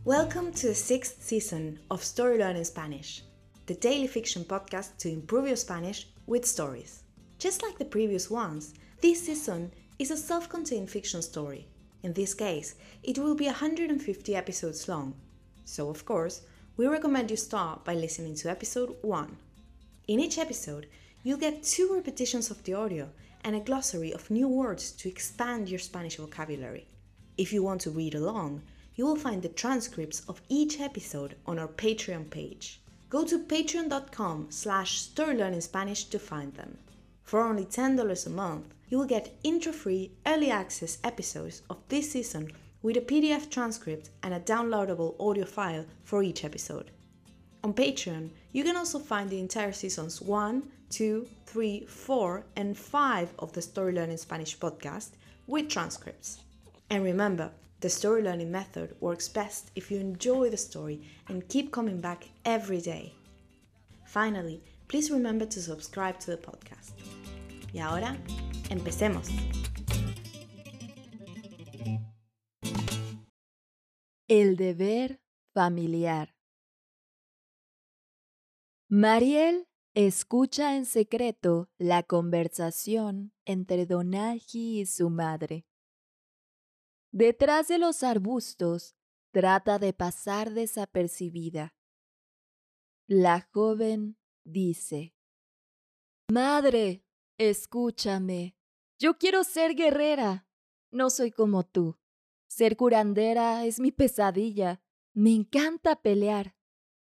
Welcome to the 6th season of Story Learning Spanish, the daily fiction podcast to improve your Spanish with stories. Just like the previous ones, this season is a self-contained fiction story. In this case, it will be 150 episodes long. So, of course, we recommend you start by listening to episode 1. In each episode, you'll get 2 repetitions of the audio and a glossary of new words to expand your Spanish vocabulary. If you want to read along, you will find the transcripts of each episode on our Patreon page. Go to patreon.com/storylearningspanish to find them. For only $10 a month, you will get intro-free early access episodes of this season with a PDF transcript and a downloadable audio file for each episode. On Patreon, you can also find the entire seasons 1, 2, 3, 4, and 5 of the Story Learning Spanish podcast with transcripts. And remember, the story learning method works best if you enjoy the story and keep coming back every day. Finally, please remember to subscribe to the podcast. Y ahora, empecemos. El deber familiar. Mariel escucha en secreto la conversación entre Donaji y su madre. Detrás de los arbustos, trata de pasar desapercibida. La joven dice: «Madre, escúchame. Yo quiero ser guerrera. No soy como tú. Ser curandera es mi pesadilla. Me encanta pelear».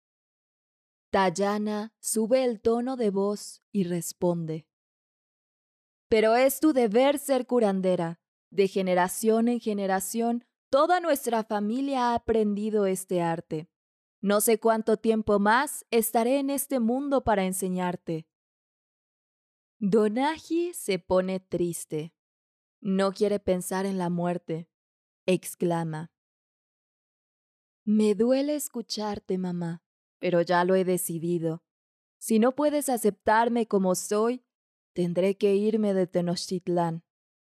Dayana sube el tono de voz y responde: «Pero es tu deber ser curandera. De generación en generación, toda nuestra familia ha aprendido este arte. No sé cuánto tiempo más estaré en este mundo para enseñarte». Donaji se pone triste. No quiere pensar en la muerte. Exclama: «Me duele escucharte, mamá, pero ya lo he decidido. Si no puedes aceptarme como soy, tendré que irme de Tenochtitlán».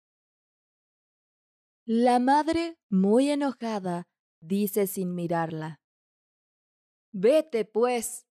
La madre, muy enojada, dice sin mirarla: «Vete, pues».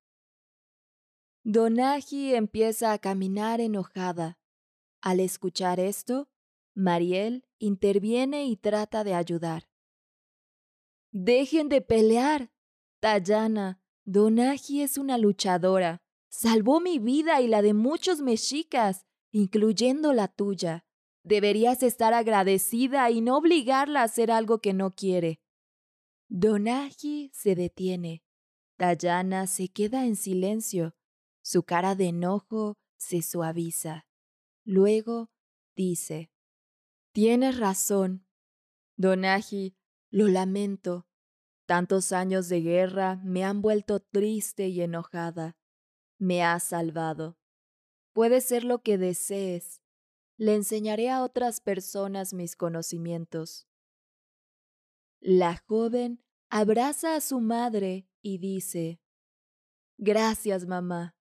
Donaji empieza a caminar enojada. Al escuchar esto, Mariel interviene y trata de ayudar. «Dejen de pelear. Dayana, Donaji es una luchadora. Salvó mi vida y la de muchos mexicas, incluyendo la tuya. Deberías estar agradecida y no obligarla a hacer algo que no quiere». Donaji se detiene. Dayana se queda en silencio. Su cara de enojo se suaviza. Luego dice: «Tienes razón. Donaji, lo lamento. Tantos años de guerra me han vuelto triste y enojada. Me has salvado. Puede ser lo que desees. Le enseñaré a otras personas mis conocimientos». La joven abraza a su madre y dice: «Gracias, mamá».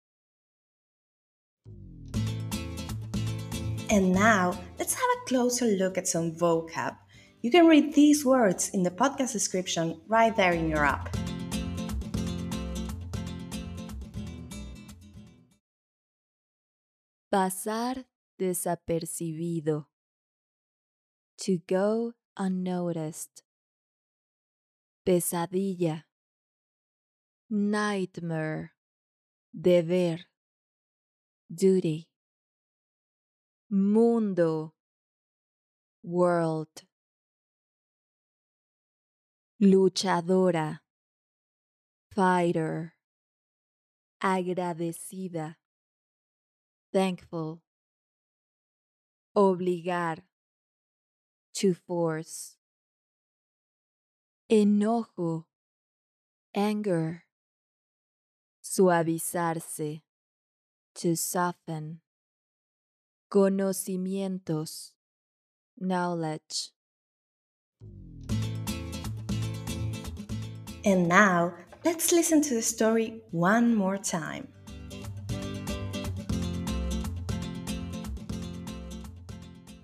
And now, let's have a closer look at some vocab. You can read these words in the podcast description right there in your app. Pasar desapercibido. To go unnoticed. Pesadilla. Nightmare. Deber. Duty. Mundo. World. Luchadora. Fighter. Agradecida. Thankful. Obligar. To force. Enojo. Anger. Suavizarse. To soften. Conocimientos. Knowledge. And now, let's listen to the story one more time.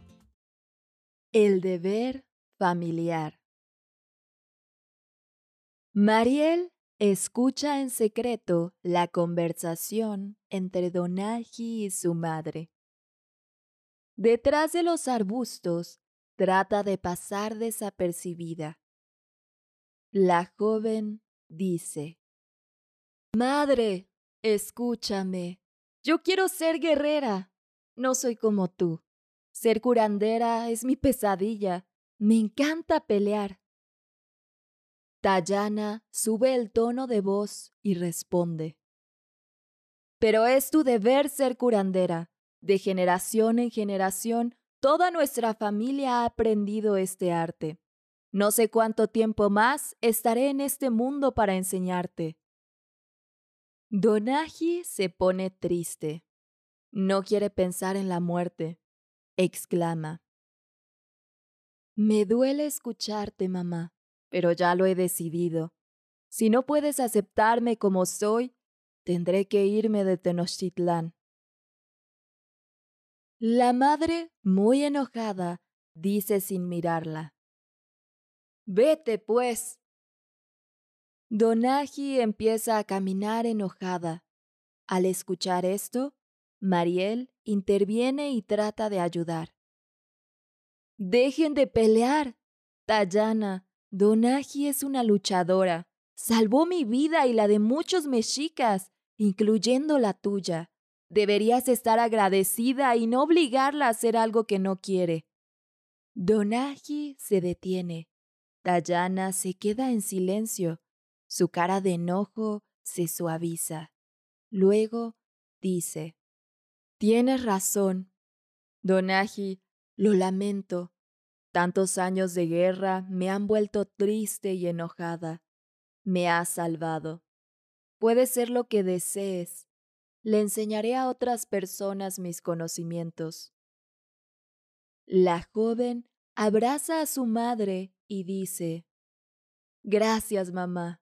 El deber familiar. Mariel escucha en secreto la conversación entre Donaji y su madre. Detrás de los arbustos, trata de pasar desapercibida. La joven dice: Madre, escúchame. Yo quiero ser guerrera. No soy como tú. Ser curandera es mi pesadilla. Me encanta pelear. Dayana sube el tono de voz y responde: Pero es tu deber ser curandera. De generación en generación, toda nuestra familia ha aprendido este arte. No sé cuánto tiempo más estaré en este mundo para enseñarte. Donaji se pone triste. No quiere pensar en la muerte. Exclama: Me duele escucharte, mamá, pero ya lo he decidido. Si no puedes aceptarme como soy, tendré que irme de Tenochtitlán. La madre, muy enojada, dice sin mirarla: Vete, pues. Donaji empieza a caminar enojada. Al escuchar esto, Mariel interviene y trata de ayudar. ¡Dejen de pelear! Dayana, Donaji es una luchadora. Salvó mi vida y la de muchos mexicas, incluyendo la tuya. Deberías estar agradecida y no obligarla a hacer algo que no quiere. Donaji se detiene. Dayana se queda en silencio. Su cara de enojo se suaviza. Luego dice: Tienes razón. Donaji, lo lamento. Tantos años de guerra me han vuelto triste y enojada. Me has salvado. Puede ser lo que desees. Le enseñaré a otras personas mis conocimientos. La joven abraza a su madre y dice: Gracias, mamá.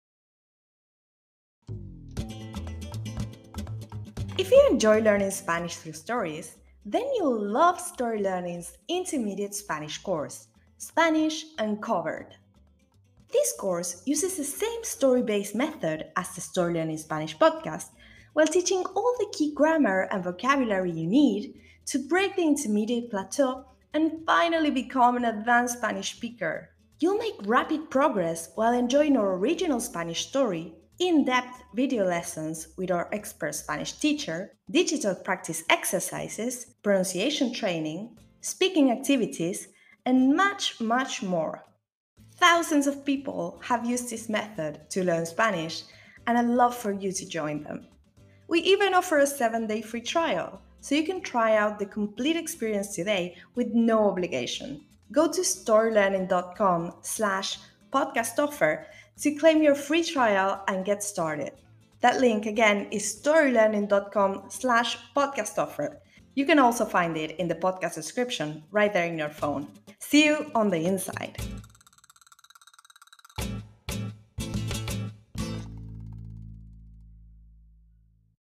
If you enjoy learning Spanish through stories, then you'll love Story Learning's intermediate Spanish course, Spanish Uncovered. This course uses the same story-based method as the Story Learning Spanish podcast, while teaching all the key grammar and vocabulary you need to break the intermediate plateau and finally become an advanced Spanish speaker. You'll make rapid progress while enjoying our original Spanish story, in-depth video lessons with our expert Spanish teacher, digital practice exercises, pronunciation training, speaking activities, and much, much more. Thousands of people have used this method to learn Spanish, and I'd love for you to join them. We even offer a 7-day free trial, so you can try out the complete experience today with no obligation. Go to storylearning.com/podcast offer to claim your free trial and get started. That link again is storylearning.com/podcast offer. You can also find it in the podcast description right there in your phone. See you on the inside.